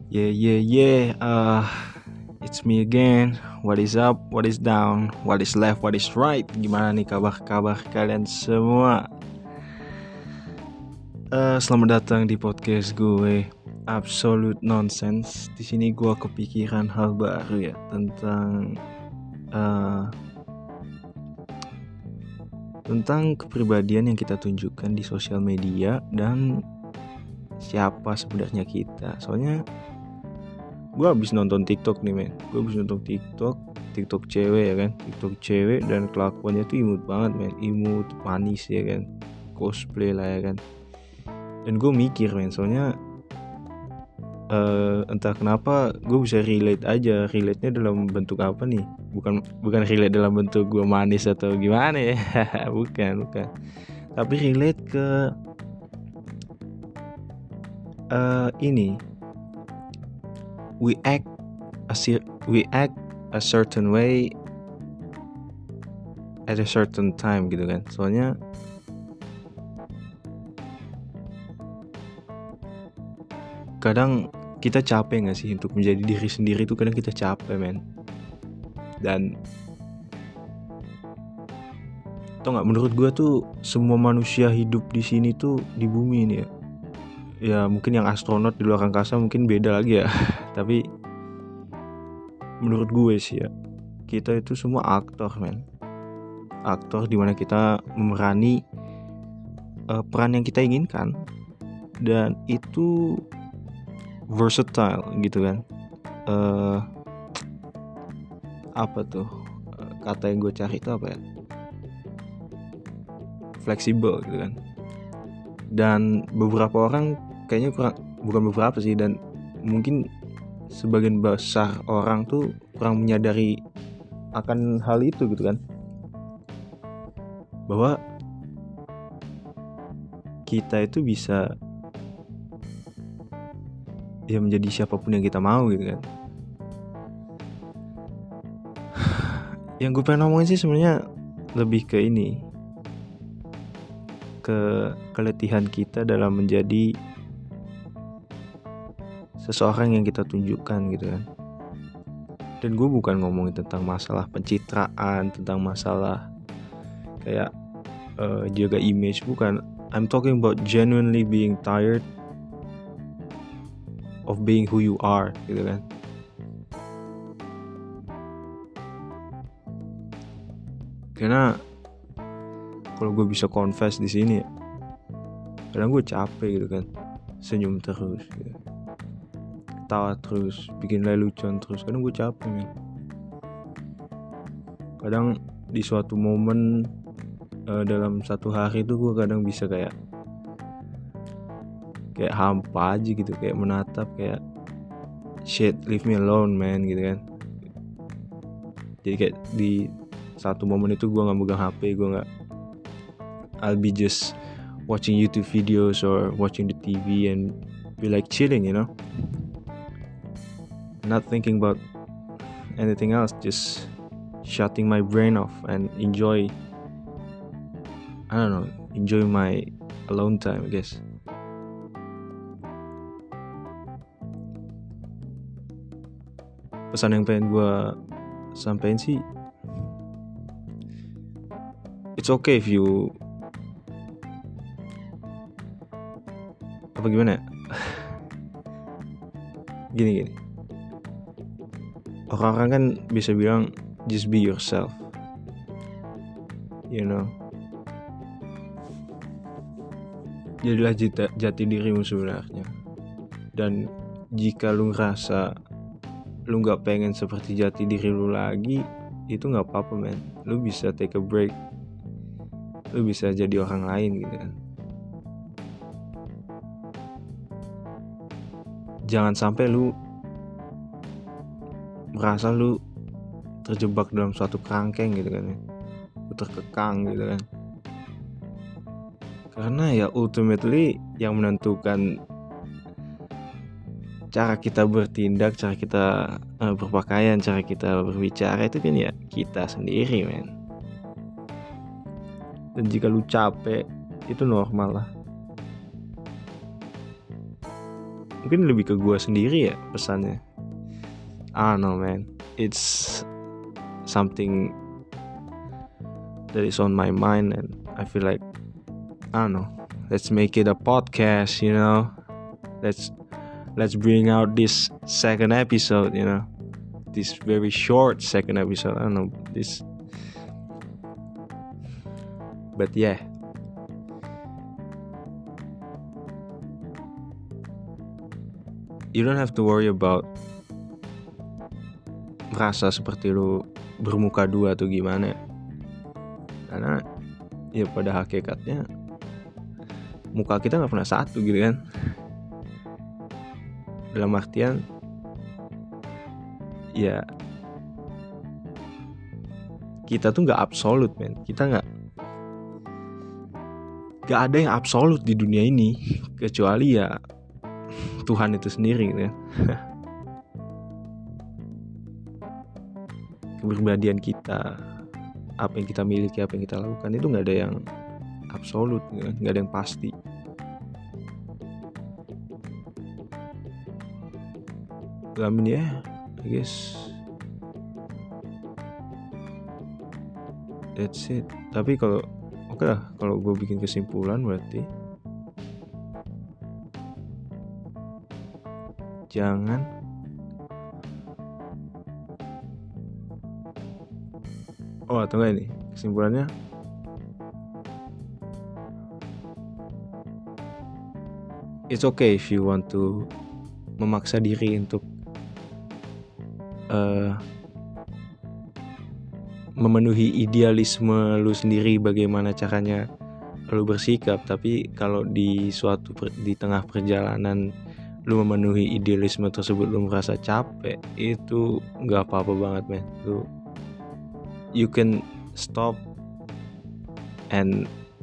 Yeah. It's me again. What is up? What is down? What is left? What is right? Gimana nih kabar kalian semua? Selamat datang di podcast gue, Absolute Nonsense. Di sini gue kepikiran hal baru ya tentang kepribadian yang kita tunjukkan di sosial media dan siapa sebenarnya kita. Soalnya gue habis nonton TikTok nih men. Gue habis nonton TikTok cewek ya kan. TikTok cewek dan kelakuannya tuh imut banget men. Imut, manis ya kan. Cosplay lah ya kan. Dan gue mikir men, soalnya entah kenapa gue bisa relate-nya dalam bentuk apa nih? Bukan relate dalam bentuk gue manis atau gimana ya. bukan. Tapi relate ke ini. We act a certain way at a certain time gitu kan. Soalnya kadang kita capek gak sih untuk menjadi diri sendiri tuh, kadang kita capek men. Dan tau gak, menurut gue tuh semua manusia hidup di sini tuh, di bumi ini ya mungkin yang astronot di luar angkasa mungkin beda lagi ya. Tapi menurut gue sih ya, kita itu semua aktor men. Aktor dimana kita memerani peran yang kita inginkan. Dan itu versatile gitu kan. Apa tuh kata yang gue cari itu apa ya? Fleksibel gitu kan. Dan beberapa orang kayaknya bukan beberapa sih, dan mungkin sebagian besar orang tuh kurang menyadari akan hal itu gitu kan, bahwa kita itu bisa ya menjadi siapapun yang kita mau gitu kan. Yang gue pengen ngomongin sih sebenarnya lebih ke ini, ke keletihan kita dalam menjadi seseorang yang kita tunjukkan gitu kan. Dan gue bukan ngomongin tentang masalah pencitraan, tentang masalah kayak jaga image, bukan. I'm talking about genuinely being tired of being who you are gitu kan. Karena kalau gue bisa confess di sini ya, kadang gue capek gitu kan, senyum terus gitu, ketawa terus, bikin lelucon terus. Kadang gue capek men. Kadang di suatu momen dalam satu hari itu gue kadang bisa kayak hampa aja gitu, kayak menatap, kayak shit, leave me alone man gitu kan. Jadi kayak di satu momen itu gue gak megang HP, I'll be just watching YouTube videos or watching the TV and be like chilling, you know, not thinking about anything else, just shutting my brain off and enjoy my alone time, I guess. Pesan yang pengen gue sampein sih, it's okay if you apa gimana ya? Gini. Orang-orang kan bisa bilang just be yourself, you know. Jadilah jati dirimu sebenarnya. Dan jika lu ngerasa lu gak pengen seperti jati diri lu lagi, itu gak apa-apa man. Lu bisa take a break, lu bisa jadi orang lain gitu kan. Jangan sampai lu merasa lu terjebak dalam suatu kerangkeng gitu kan, lu terkekang gitu kan. Karena ya ultimately yang menentukan cara kita bertindak, cara kita berpakaian, cara kita berbicara itu kan ya kita sendiri men. Dan jika lu capek, itu normal lah. mungkin lebih ke gue sendiri ya pesannya. I don't know man, it's something that is on my mind and I feel like, I don't know, let's make it a podcast, you know. Let's bring out this second episode, you know. This very short second episode. I don't know this. But yeah. You don't have to worry about merasa seperti lu bermuka dua atau gimana. Karena ya pada hakikatnya muka kita gak pernah satu gitu kan. Dalam artian ya kita tuh gak absolut men. Kita gak ada yang absolut di dunia ini kecuali ya Tuhan itu sendiri gitu kan. Kepribadian kita, apa yang kita miliki, apa yang kita lakukan itu gak ada yang absolut gitu kan. Gak ada yang pasti. I mean yeah, I guess that's it. Tapi kalau oke lah, kalau gue bikin kesimpulan berarti jangan atau enggak ini kesimpulannya, it's okay if you want to memaksa diri untuk memenuhi idealisme lu sendiri bagaimana caranya lu bersikap. Tapi kalau di tengah perjalanan lu memenuhi idealisme tersebut lu merasa capek, itu nggak apa-apa banget men. You can stop and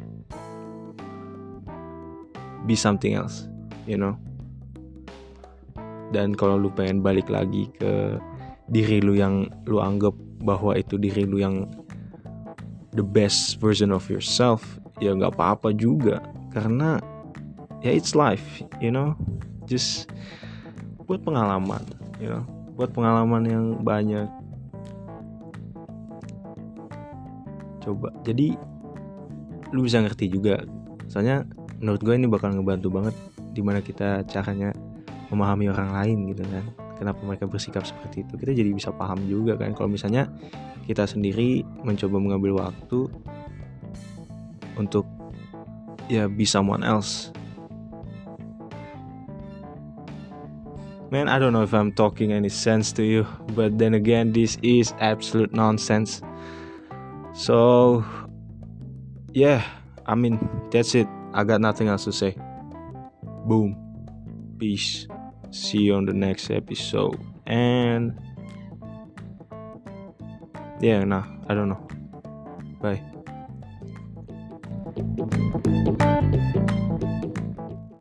be something else, you know. Dan kalau lu pengen balik lagi ke diri lu yang lu anggap bahwa itu diri lu yang the best version of yourself, ya gak apa-apa juga. Karena ya it's life, you know. Just buat pengalaman, you know. Buat pengalaman yang banyak. Coba, jadi lu bisa ngerti juga. Soalnya menurut gue ini bakal ngebantu banget dimana kita caranya memahami orang lain gitu kan. Kenapa mereka bersikap seperti itu, kita jadi bisa paham juga kan. Kalau misalnya kita sendiri mencoba mengambil waktu untuk ya be someone else. Man, I don't know if I'm talking any sense to you, but then again this is absolute nonsense. So yeah, I mean that's it. I got nothing else to say. Boom. Peace. See you on the next episode. And yeah, I don't know. Bye.